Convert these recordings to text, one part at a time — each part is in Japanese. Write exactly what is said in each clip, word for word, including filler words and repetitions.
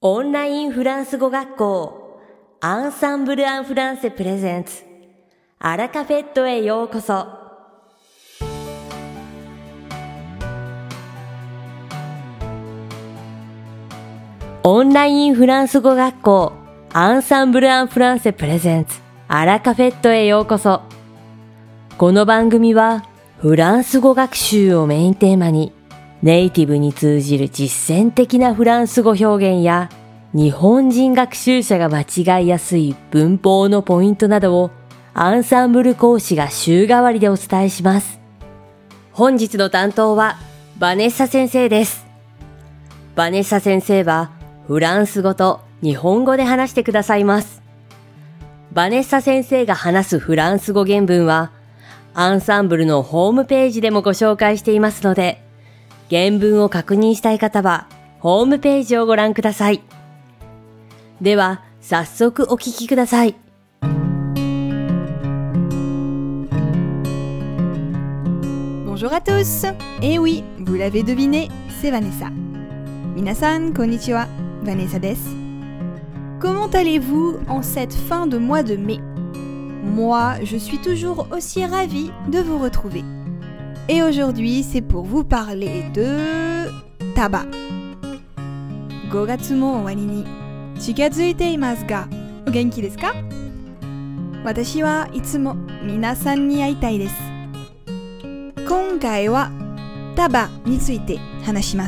オンラインフランス語学校アンサンブル・アン・フランセプレゼンツアラカフェットへようこそ。オンラインフランス語学校アンサンブル・アン・フランセプレゼンツアラカフェットへようこそ。この番組はフランス語学習をメインテーマにネイティブに通じる実践的なフランス語表現や日本人学習者が間違いやすい文法のポイントなどをアンサンブル講師が週替わりでお伝えします。本日の担当はバネッサ先生です。バネッサ先生はフランス語と日本語で話してくださいます。バネッサ先生が話すフランス語原文はアンサンブルのホームページでもご紹介していますので、原文を確認したい方はホームページをご覧ください。では早速お聞きください。 Bonjour à tous. Eh oui, vous l'avez deviné, c'est Vanessa. Minasan, konnichiwa, Vanessa des. Comment allez-vous en cette fin de mois de mai? Moi, je suis toujours aussi ravie de vous retrouver. Et aujourd'hui, c'est pour vous parler de tabac. ごがつも終わりに近づいていますが、お元気ですか？私はいつも皆さんに会いたいです。今回はタバについて話します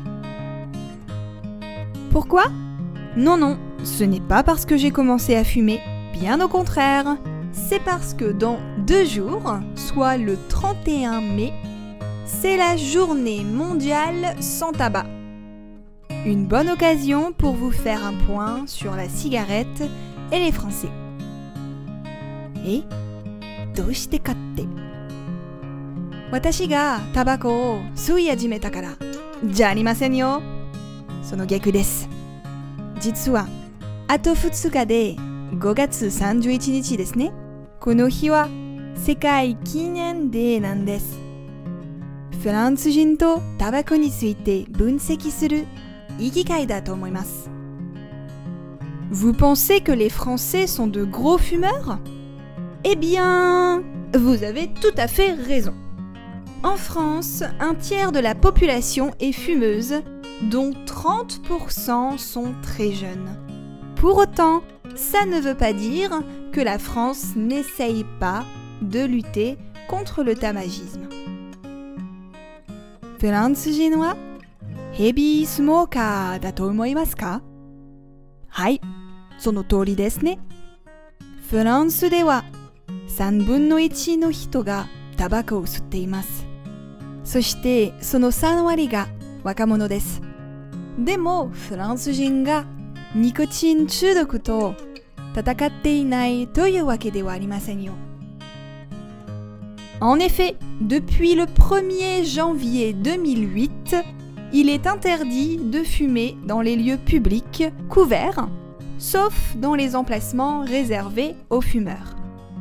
。Pourquoi? Non, non, ce n'est pas parce que j'ai commencé à fumer, bien au contraire. C'est parce que dans deux jours, soit le trente et un mai, c'est la journée mondiale sans tabac. Une bonne occasion pour vous faire un point sur la cigarette et les Français. Et, どうしてかって。私がタバコを吸い始めたから、じゃありませんよ。その逆です。実は、あとふつかでごがつさんじゅういちにちですね。この日は世界記念デーなんです。フランス人とタバコについて分析するいい機会だと思います。Vous pensez que les Français sont de gros fumeurs? Eh bien, vous avez tout à fait raison. En France, un tiers de la population est fumeuse, dont trente pour cent sont très jeunes. Pour autant, ça ne veut pas dire que la France n'essaye pas de lutter contre le tabagisme. フランス人はヘビースモーカーだと思いますか？はい、その通りですね。フランスではさんぶんのいちの人がタバコを吸っています。そしてそのさんわりが若者です。でもフランス人がニコチン中毒と戦っていないというわけではありませんよ。En effet, depuis le premier janvier deux mille huit, il est interdit de fumer dans les lieux publics couverts, sauf dans les emplacements réservés aux fumeurs.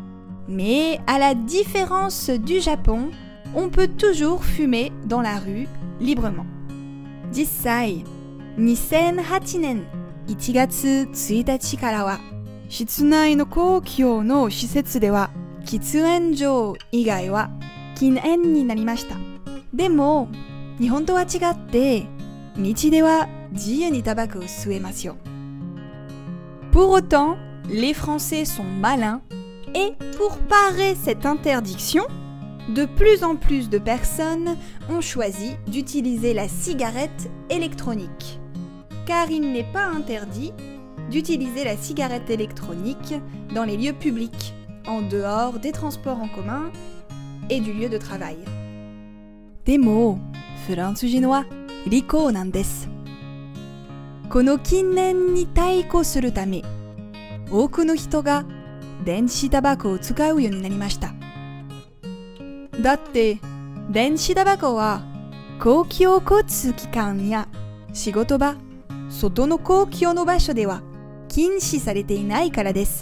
Mais à la différence du Japon, on peut toujours fumer dans la rue librement. 実際、にせんはちねんいちがつついたちからは室内の公共の施設では喫煙所以外は禁煙になりました。でも日本とは違って道では自由にタバコを吸えますよ。Pour autant, les Français sont malins et pour parer cette interdiction, de plus en plus de personnes ont choisi d'utiliser la cigarette électronique. Car il n'est pas interdit d'utiliser la cigarette électronique dans les lieux publics, en dehors des transports en commun et du lieu de travail. でも、フランス人は利口なんです。この禁煙に対抗するため、多くの人が電子タバコを使うようになりました。だって、電子タバコは公共交通機関や仕事場、外の公共の場所では禁止されていないからです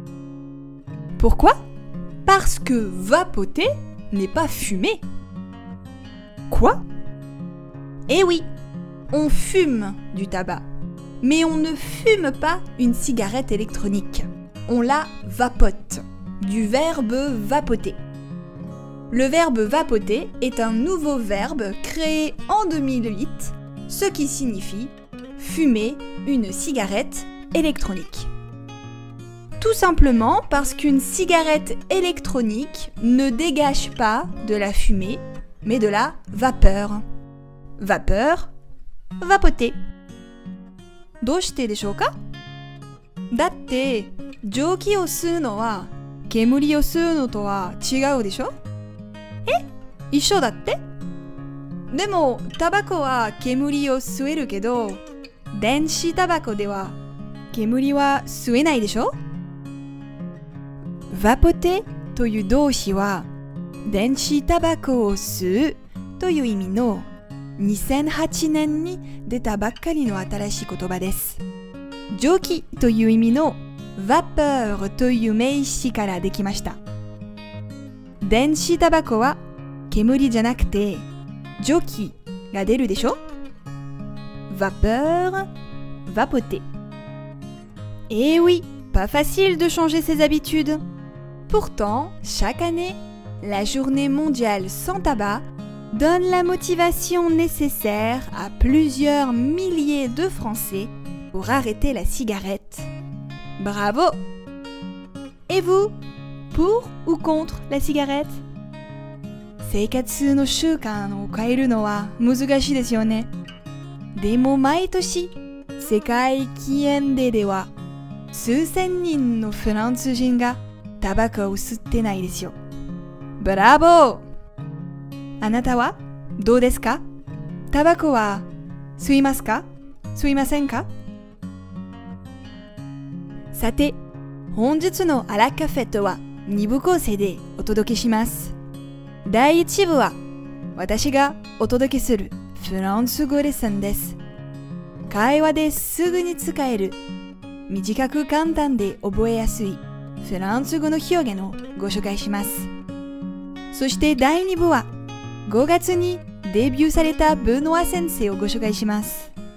。Pourquoi? Parce que vapoter n'est pas fumer. Quoi? Eh oui, on fume du tabac, Mais on ne fume pas une cigarette électronique. On la vapote, du verbe vapoter. Le verbe vapoter est un nouveau verbe créé en deux mille huit, ce qui signifie fumer une cigarette électronique. Tout simplement parce qu'une cigarette électronique ne dégage pas de la fumée, mais de la vapeur. Vapeur, vapoter. どうしてでしょうか? だって、蒸気を吸うのは煙を吸うのとは違うでしょ? え? 一緒だって? でも、タバコは煙を吸えるけど、電子タバコでは煙は吸えないでしょ? バポテという動詞は、電子タバコを吸うという意味のにせんはちねんに出たばっかりの新しい言葉です。蒸気という意味の vapeur という名詞からできました。電子タバコは煙じゃなくて蒸気が出るでしょ? Vapeur, vapoter. Eh oui, pas facile de changer ses habitudes. Pourtant, chaque année, la journée mondiale sans tabac donne la motivation nécessaire à plusieurs milliers de Français pour arrêter la cigarette. Bravo! Et vous, pour ou contre la cigarette? 生活の習慣を変えるのは難しいですよね。でも毎年、世界記念デーでは数千人のフランス人がタバコを吸ってないですよ。ブラボー！あなたはどうですか？タバコは吸いますか？吸いませんか？さて、本日のアラカフェットはに部構成でお届けします。だいいち部は私がお届けするフランス語レッスンです。会話ですぐに使える、短く簡単で覚えやすいフランス語の表現をご紹介します。そしてだいに部はごがつにデビューされたベノア先生をご紹介します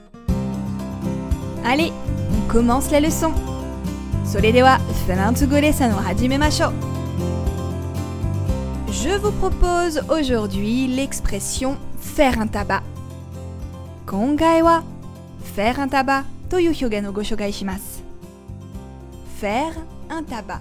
。Allez, on commence la leçon. それではフランス語レッスンを始めましょう。Je vous propose aujourd'hui l'expression faire un tabac. 今回は faire un tabac という表現をご紹介します。faire un tabac.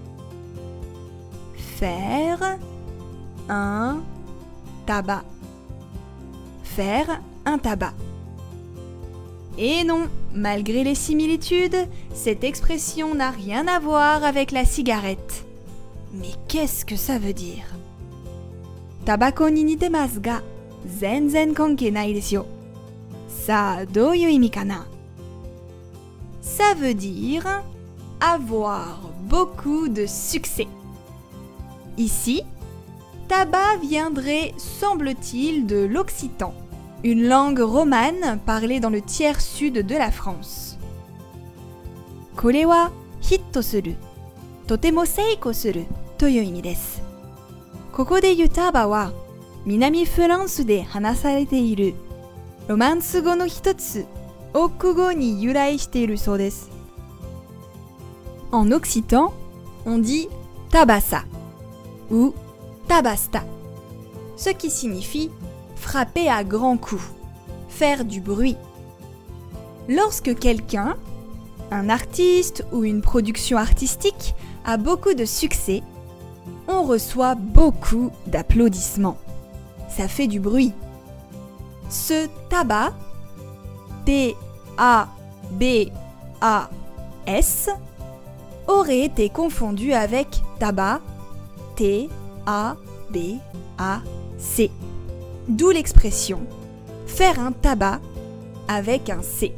Faire un tabac. Faire un tabac. Et non, malgré les similitudes, cette expression n'a rien à voir avec la cigarette. Mais qu'est-ce que ça veut dire? タバコに似てますが、全然関係ないですよ。さあ、どういう意味かな? Ça veut dire avoir beaucoup de succès. Ici, tabac viendrait, semble-t-il, de l'occitan, une langue romane parlée dans le tiers sud de la France. これはヒットする、とても成功するという意味です。ここで言うタバは、南フランスで話されているロマンス語の一つ、オック語に由来しているそうです。En occitan, on dit tabassa ou tabasta, ce qui signifie frapper à grands coups, faire du bruit. Lorsque quelqu'un, un artiste ou une production artistique a beaucoup de succès, on reçoit beaucoup d'applaudissements. Ça fait du bruit. Ce tabac, T A B A S, aurait été confondu avec tabac, T A B A C. D'où l'expression faire un tabac avec un C.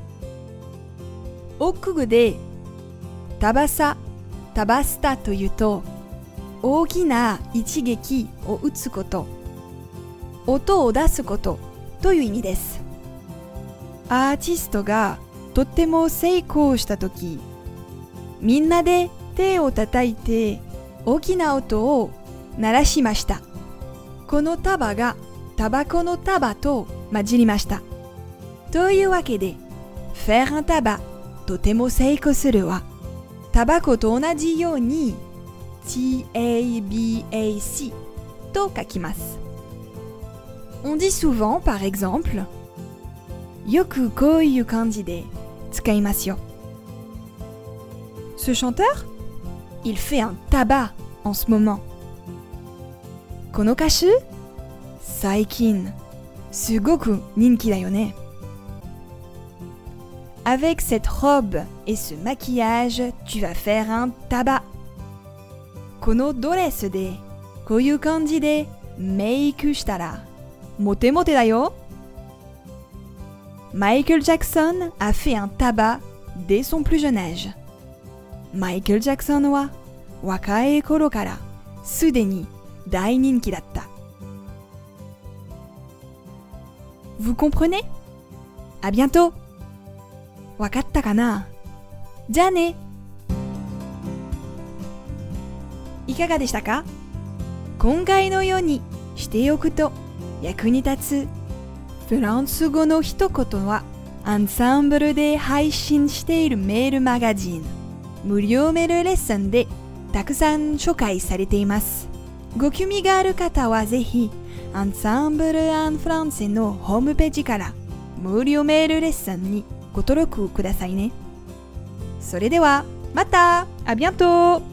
オック語でタバサ、タバスタというと大きな一撃を打つこと、音を出すことという意味です。アーティストがとっても成功したとき、みんなで手を叩いて大きな音を鳴らしました。このタバがタバコのタバと混じりました。というわけで、 faire un tabac とても成功するはタバコと同じように タバ と書きます。On dit souvent, par exemple, よくこういう感じで使いますよ。Ce chanteur, il fait un tabac en ce moment. この歌手、最近すごく人気だよね。Avec cette robe et ce maquillage, tu vas faire un tabac. このドレスでこういう感じでメイクしたらモテモテだよ。Michael Jackson a fait un tabac dès son plus jeune âge. Michael Jackson は若い頃からすでに大人気だった。Vous comprenez? À bientôt! わかったかな？じゃあね。いかがでしたか？今回のようにしておくと役に立つフランス語の一言はアンサンブルで配信しているメールマガジン無料メールレッスンでたくさん紹介されています。ご興味がある方はぜひアンサンブル・アン・フランセのホームページから無料メールレッスンにご登録くださいね。それではまたあビアント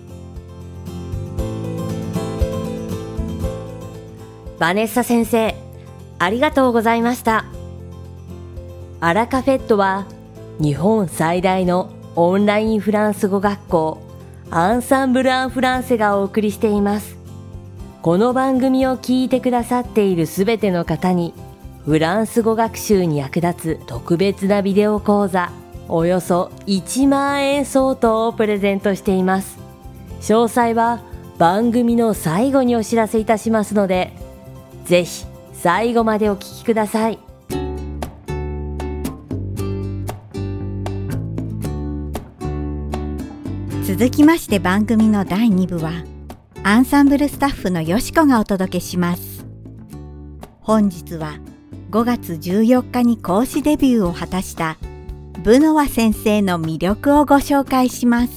バネッサ先生、ありがとうございました。アラカフェットは日本最大のオンラインフランス語学校アンサンブル・アン・フランセがお送りしています。この番組を聞いてくださっているすべての方にフランス語学習に役立つ特別なビデオ講座およそいちまんえん相当をプレゼントしています。詳細は番組の最後にお知らせいたしますので、ぜひ最後までお聞きください。 続きまして番組のだいに部はアンサンブルスタッフのよしこがお届けします。本日はごがつじゅうよっかに講師デビューを果たしたブノワ先生の魅力をご紹介します。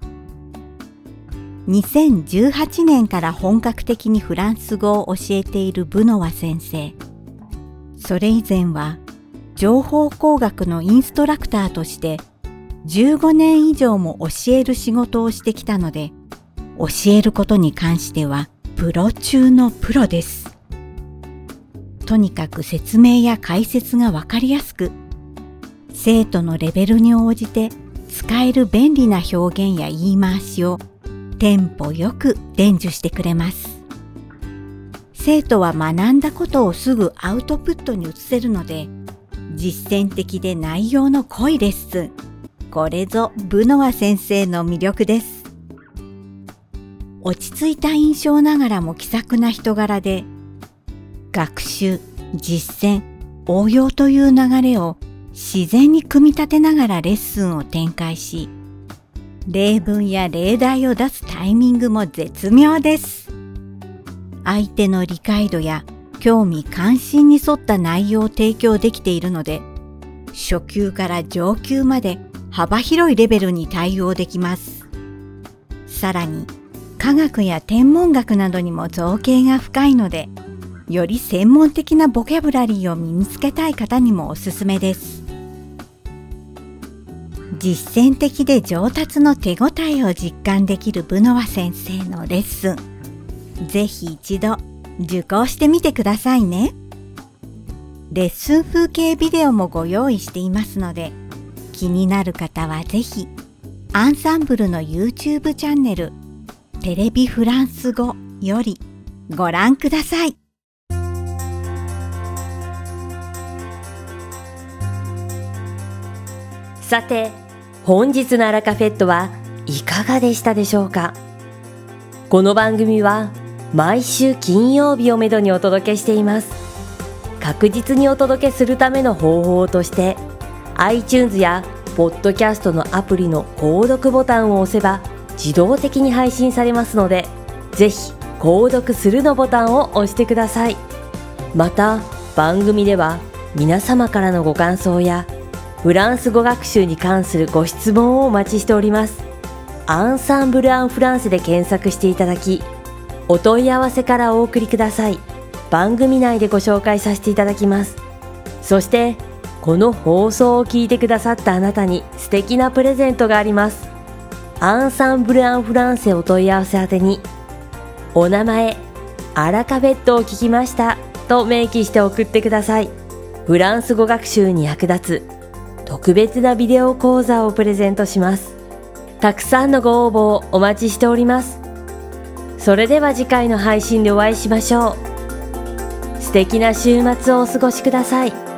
にせんじゅうはちねんから本格的にフランス語を教えているブノワ先生。それ以前は情報工学のインストラクターとしてじゅうごねん以上も教える仕事をしてきたので、教えることに関してはプロ中のプロです。とにかく説明や解説がわかりやすく、生徒のレベルに応じて使える便利な表現や言い回しをテンポよく伝授してくれます。生徒は学んだことをすぐアウトプットに移せるので、実践的で内容の濃いレッスン。これぞブノワ先生の魅力です。落ち着いた印象ながらも気さくな人柄で、学習、実践、応用という流れを自然に組み立てながらレッスンを展開し、例文や例題を出すタイミングも絶妙です。相手の理解度や興味関心に沿った内容を提供できているので、初級から上級まで幅広いレベルに対応できます。さらに、科学や天文学などにも造詣が深いので、より専門的なボキャブラリーを身につけたい方にもおすすめです。実践的で上達の手応えを実感できるブノワ先生のレッスン、ぜひ一度受講してみてくださいね。レッスン風景ビデオもご用意していますので、気になる方はぜひアンサンブルの YouTube チャンネルテレビフランス語よりご覧ください。 さて、本日のアラカフェットはいかがでしたでしょうか。この番組は毎週金曜日をめどにお届けしています。確実にお届けするための方法として iTunes やポッドキャストのアプリの購読ボタンを押せば自動的に配信されますので、ぜひ購読するのボタンを押してください。また番組では皆様からのご感想やフランス語学習に関するご質問をお待ちしております。アンサンブル・アン・フランセで検索していただき、お問い合わせからお送りください。番組内でご紹介させていただきます。そして、この放送を聞いてくださったあなたに素敵なプレゼントがあります。アンサンブル・アン・フランセお問い合わせ宛てに、お名前、アラカフェットを聞きましたと明記して送ってください。フランス語学習に役立つ特別なビデオ講座をプレゼントします。たくさんのご応募をお待ちしております。それでは次回の配信でお会いしましょう。素敵な週末をお過ごしください。